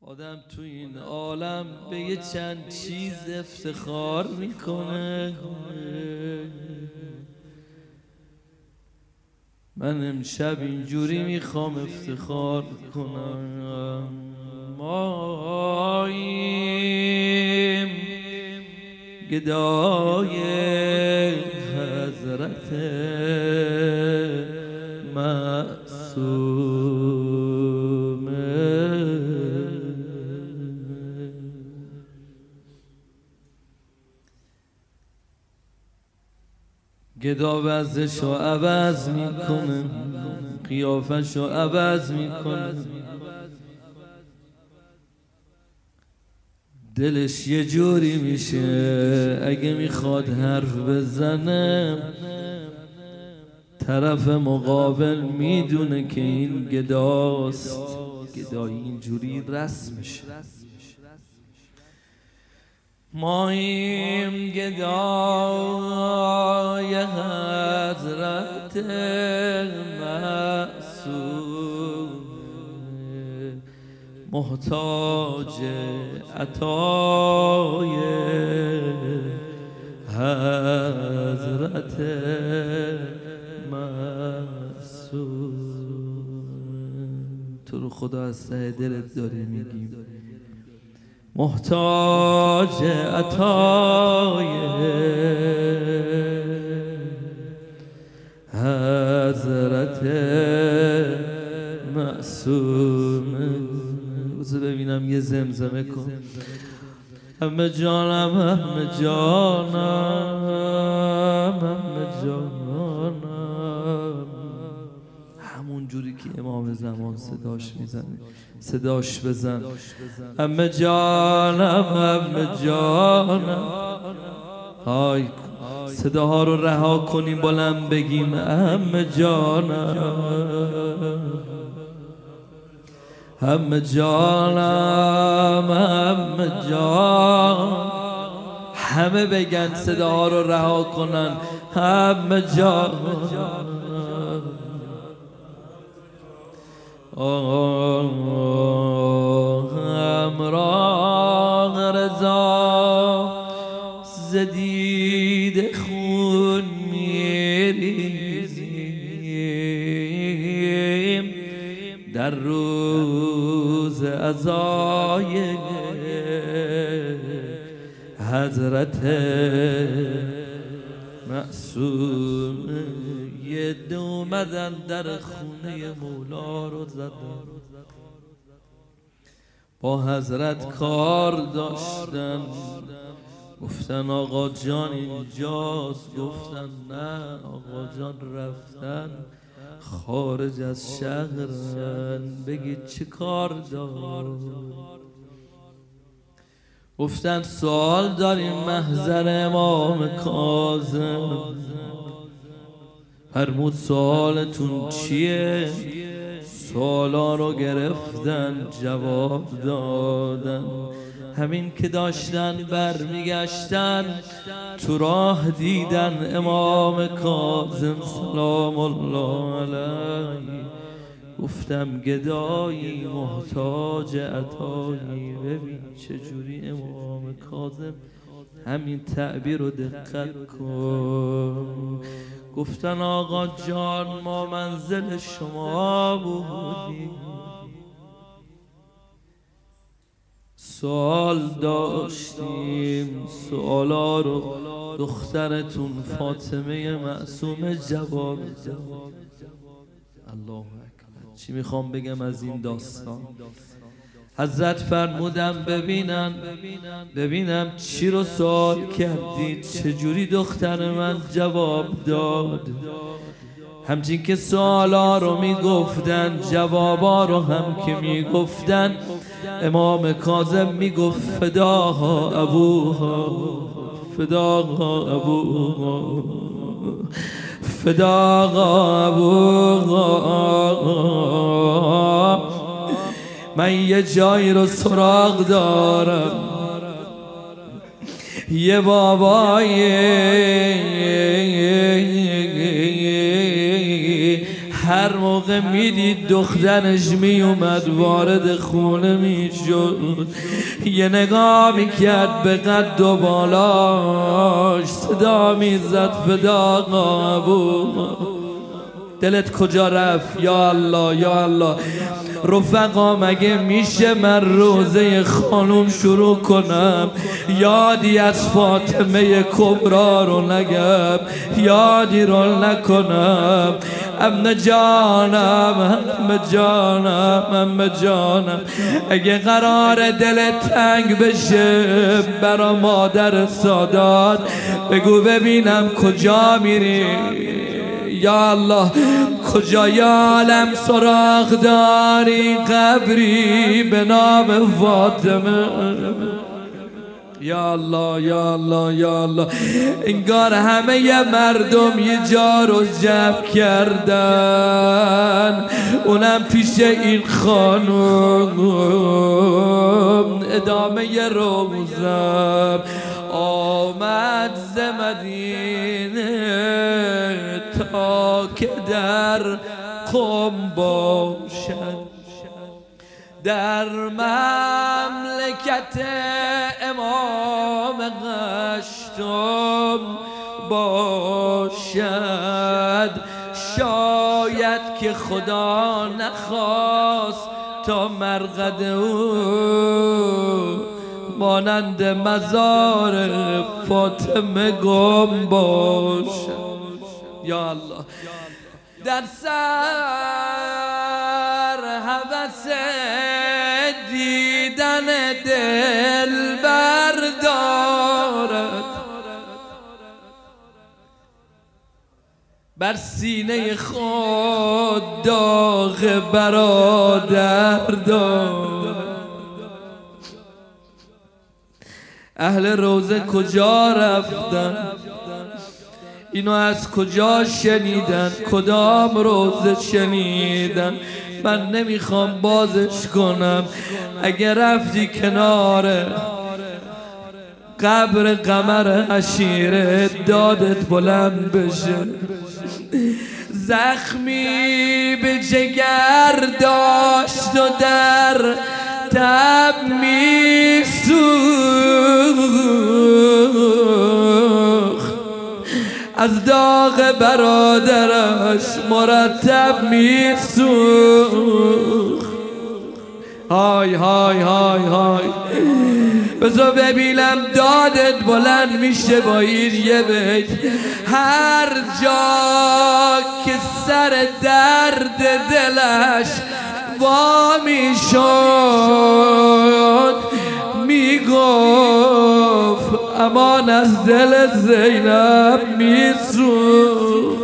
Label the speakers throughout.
Speaker 1: آدم تو این عالم به یه چند چیز افتخار میکنه. من امشب اینجوری میخوام افتخار کنم. ماییم گدای حضرت معصومه، گدا وضعشو عوض میکنه، قیافشو عوض میکنه، دلش یه جوری میشه اگه میخواد حرف بزنه طرف مقابل میدونه که این گداست. گدایی اینجوری رسمشه. ما این گدای حضرت معصوم، محتاج عطای حضرت معصوم. تو رو خدا از ته دلت داری میگیم محتاج عطای حضرت معصومه. بذار ببینم یه زمزمه کن. همه جانم همه جانم همه جانم، همون جوری که امام زمان صداش میزنه صداش بزن. همه جانم همه جانم، های صداها رو رها کنیم بلند بگیم همه جانم همه جانم همه جان، همه بگن صداها رو رها کنن همه جانم. همراه رضا زدید خون میریزیم در روز عزای حضرت معصوم. یه دو اومدن در خونه مولا رو زدن، با حضرت کار داشتن، گفتن آقا جان اینجاست، گفتن نه آقا جان رفتن خارج از شهرن، بگید چه کار دار. گفتن سوال داریم محضر امام کاظم. فرمود سوالتون چیه؟ سوالا رو گرفتن جواب دادن. همین که داشتن برمیگشتن تو راه دیدن امام کاظم سلام الله علیه. گفتم گدایی محتاج عطایی. ببین چجوری امام کاظم همین تعبیر رو دقت کن. گفتن آقا جان ما منزل شما بودیم، سوال داشتیم، سوالا رو دخترتون فاطمه معصومه جواب داد. الله اکبر. چی میخوام بگم از این داستان؟ حضرت فرمودم ببینم چی رو سوال کردید، چجوری دختر من جواب داد. همچین که سوالا رو میگفتن جوابا رو هم که میگفتن، امام کاظم میگفت فداها ابوها فداها ابوها فداها ابوها. من یه جایی رو سراغ دارم، یه بابای هر موقع میدید دخترش میومد وارد خونه میشد، یه نگاه میکرد به قد و بالاش، صدا میزد فدا ابو. دلت کجا رفت؟ یا الله یا الله. رفقا مگه میشه من روزه خانوم شروع کنم یادی از فاطمه کبرا رو نگم، یادی رو نکنم؟ ام جانم ام جانم ام جانم، اگه قرار دلت تنگ بشه برا مادر سادات بگو ببینم کجا میری. یا الله کجای عالم سراغ داری قبری به نام فاطمه؟ یا الله یا الله یا الله. انگار همه مردم یه جا رو جمع کردن، اونم پیش این خانم. ادامه روزم آمد ز مدینه تا که در قم باشد، در مملکت امام هشتم باشد. شاید که خدا نخواست تا مرقد او مانند مزار فاطمه گم باشد. یا الله در سر هوس دیدن دل بردارد، بر سینه خود داغ برادر دارد. اهل روزه کجا رفتن؟ اینو از کجا شنیدن؟ کدام روزه شنیدن؟ من نمیخوام بازش کنم. اگر رفتی کنار قبر قمر عشیره دادت بلند بشه. زخمی به جگر داشت و در تب میسوخت، از داغ برادرش مرتب میسوخت. های های های های. بذار ببینم دادت بلند میشه با این یه بیت. هر جا که سر درد دلش وا میشد میگفت امان از دل زینب میسوخت.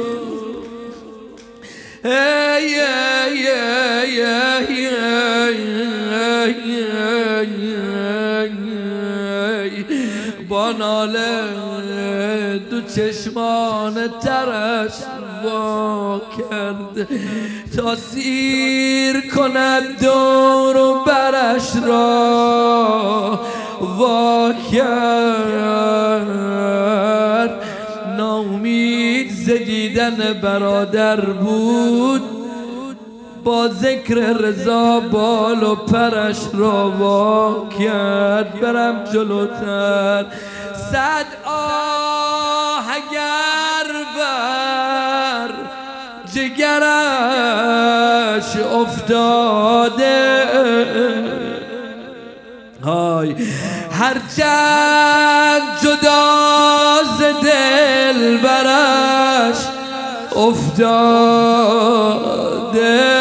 Speaker 1: با ناله دو چشمان ترش وا کرد تا سیر کند دور و برش را وا کرد. ناامید ز دیدن برادر بود، با ذکر رضا بال و پرش را وا کرد. برم جلوتر. صد آه اگر بر جگرش افتاده، های هرچند جدا ز دل برش افتاده.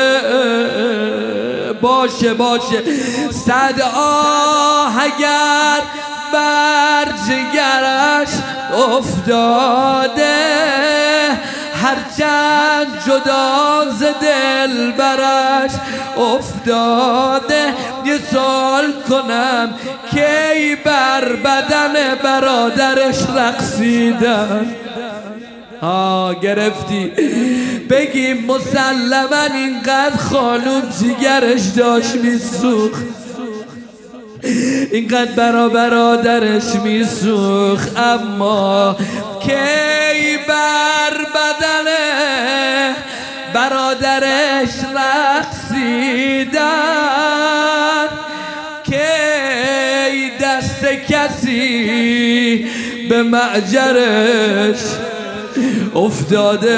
Speaker 1: باشه باشه. صد آه اگر بر جگرش افتاده، هرچند جدا ز دل برش افتاده. یه سوال کنم کی بر بدن برادرش رقصیدن؟ گرفتی. بگیم مسلما اینقدر خانوم جیگرش داشت میسوخت، اینقدر برا برادرش میسوخت، اما کی بر بدن برادرش رقصیدن که دست کسی به معجرش افتاده.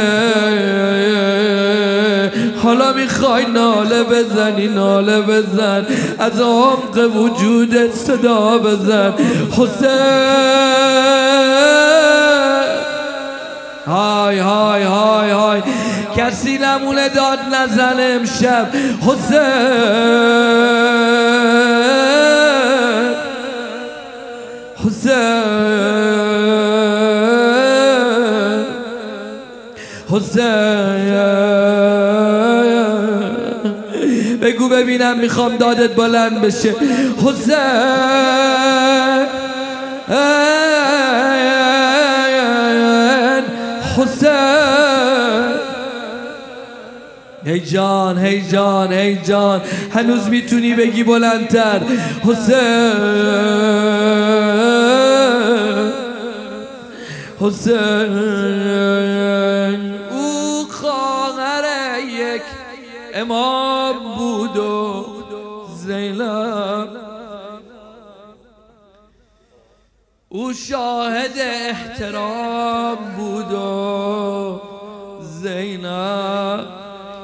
Speaker 1: حالا میخوای ناله بزنی ناله بزن، از عمق وجودت صدا بزن حسین. های های های های کسی نمونه داد نزن امشب حسین. حسین بگو ببینم میخوام دادت بلند بشه حسین. حسین هی جان هی جان هی جان هنوز میتونی بگی بلندتر حسین. حسین او خواهر یک امام بود و زینب، او شاهد احترام بود و زینب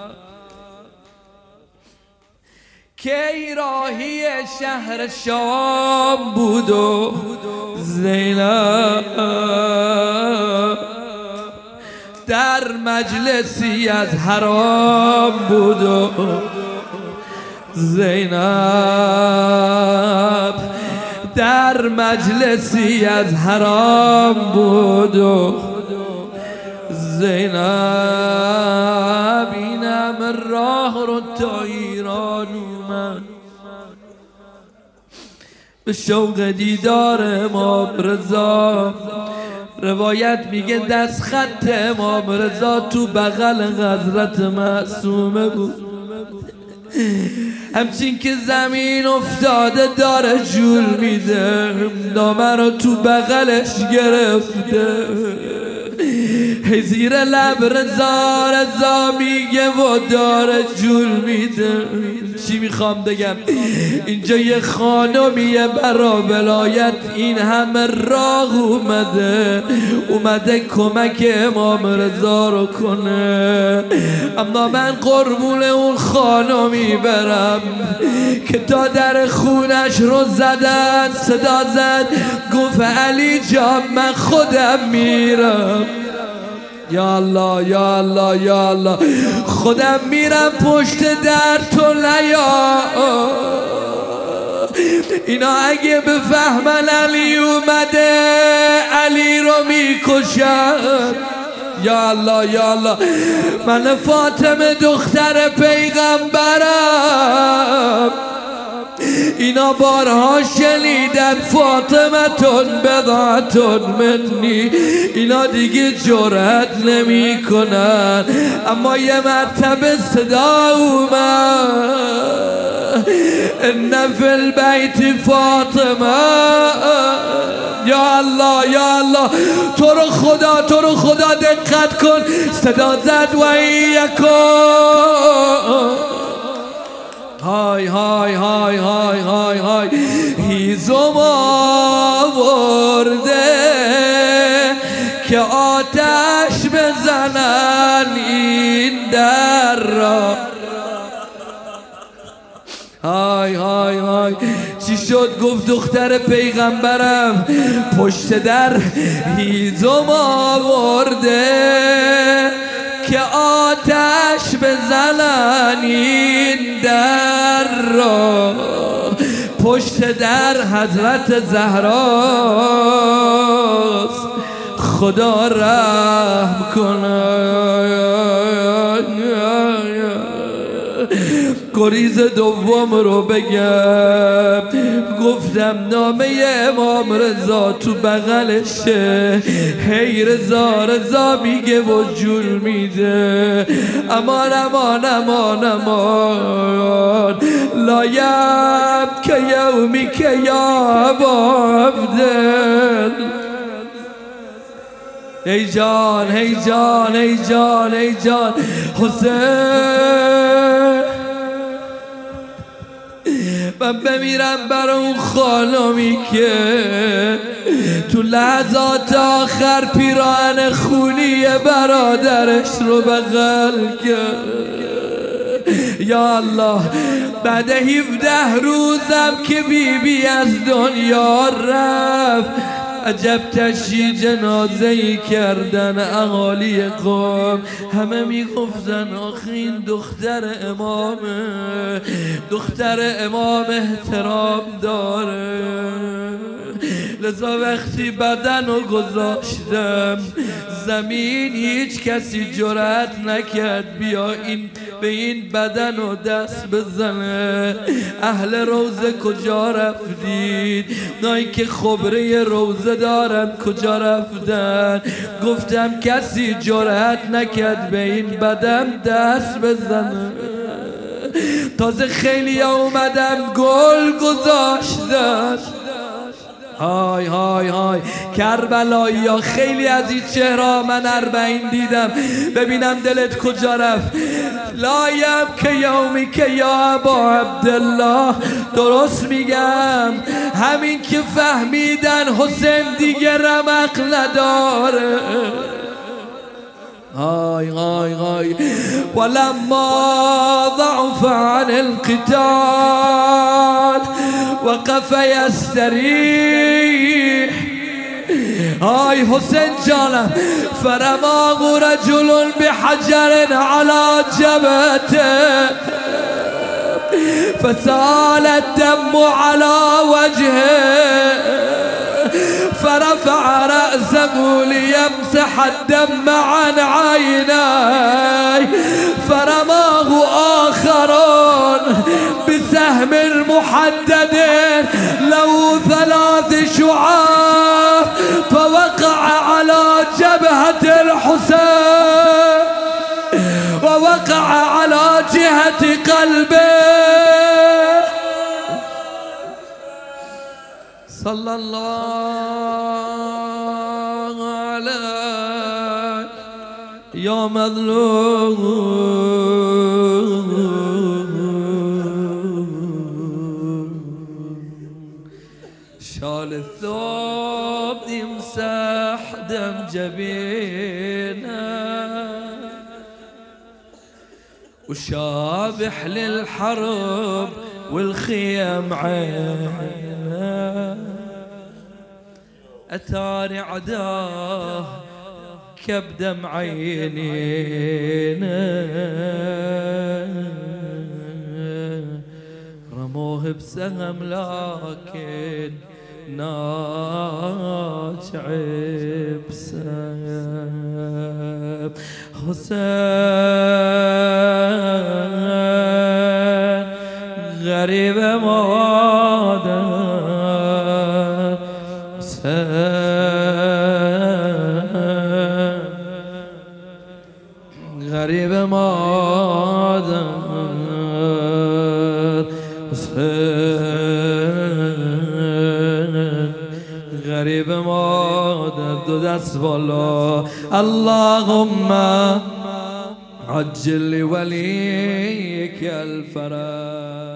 Speaker 1: کی راهی شهر شام بود و زینب در مجلسی از حرام بود و زینب در مجلسی از حرام بود و زینب. اینم راه رو تا ایران اومد به شوق دیدار امام رضا. روایت میگه دست خط امام رضا تو بغل حضرت معصومه بود، همچین که زمین افتاده داره جول میده، نامه رو تو بغلش گرفته. زیر لب رضا رضا میگه و داره جول میده. چی میخوام بگم؟ اینجا یه خانمیه برا ولایت این همه راه اومده کمک امام رضا رو کنه، اما من قربون اون خانمی برم که تا در خونش رو زدن صدا زد گفت علی جان من خودم میرم. یا الله یا الله یا الله خودم میرم پشت در تو نیا. اینا اگه بفهمن علی اومده علی رو میکشن. یا الله یا الله من فاطمه دختر پیغمبرم، اینا بارها شنیدن فاطمتون بضعتون منی، اینا دیگه جرأت نمی کنن. اما یه مرتبه صدا اومد ان فی البیت فاطمه. یا الله یا الله تو رو خدا دقت کن. صدا زد و ایکم های های های های های های هیزم آورده که آتش بزنن این در را. های های های چی شد؟ گفت دختر پیغمبرم پشت در هیزم آورده که آتش بزنن این در را. پشت در حضرت زهراست، خدا رحم کنه. گریز دوم رو بگم، گفتم نامه امام رضا تو بغلشه، هی رضا رضا میگه و جول میده. امان امان امان امان لایم که یومی که یا عبدل ای جان ای جان ای جان ای جان حسین، من بمیرم بر اون خانمی که تو لحظات آخر پیراهن خونی برادرش رو بغل کرد. یا الله، بعد 17 روزم که بیبی از دنیا رفت، عجب تشییع جنازه‌ای کردن اهالی قوم. همه میگفتن آخه این دختر امامه، دختر امام احترام داره. لذا وقتی بدن رو گذاشتم زمین، هیچ کسی جرأت نکرد بیا به این بدن رو دست بزنه. اهل روزه کجا رفتید؟ نایی که خبره روزه دارن کجا رفتن؟ گفتم کسی جرأت نکرد به این بدن دست بزنه. تازه خیلی اومدم گل گذاشتن. های های های کربلایی ها، خیلی از این چهره من 40 دیدم، ببینم دلت کجا رفت. لایم که یومی که یا ابا عبدالله، درست میگم، همین که فهمیدن حسین دیگه رمق نداره. های های های ولما ضعف عن القتال وقف يستريح. های حسین جانم، فرماه رجل بحجر على جبهته فسال الدم على وجهه فرفع رأسه ليمسح الدم عن عينيه فرماه آخرون بسهم محدد له 3 شعاع فوقع على جبهة الحسين ووقع على جهة قلبه صلى الله عليك يا مظلوم. شال الثوب يمسح دم جبينه وشابح للحرب والخيم عينه. أتاني عداه كبدم عينينا رموه بسهم لكن ناجع بسهم. حسين غريب مادر، حسين غريب مادر، حسين غريب مادر. دو دست بالا. اللهم عجل لوليك الفرج.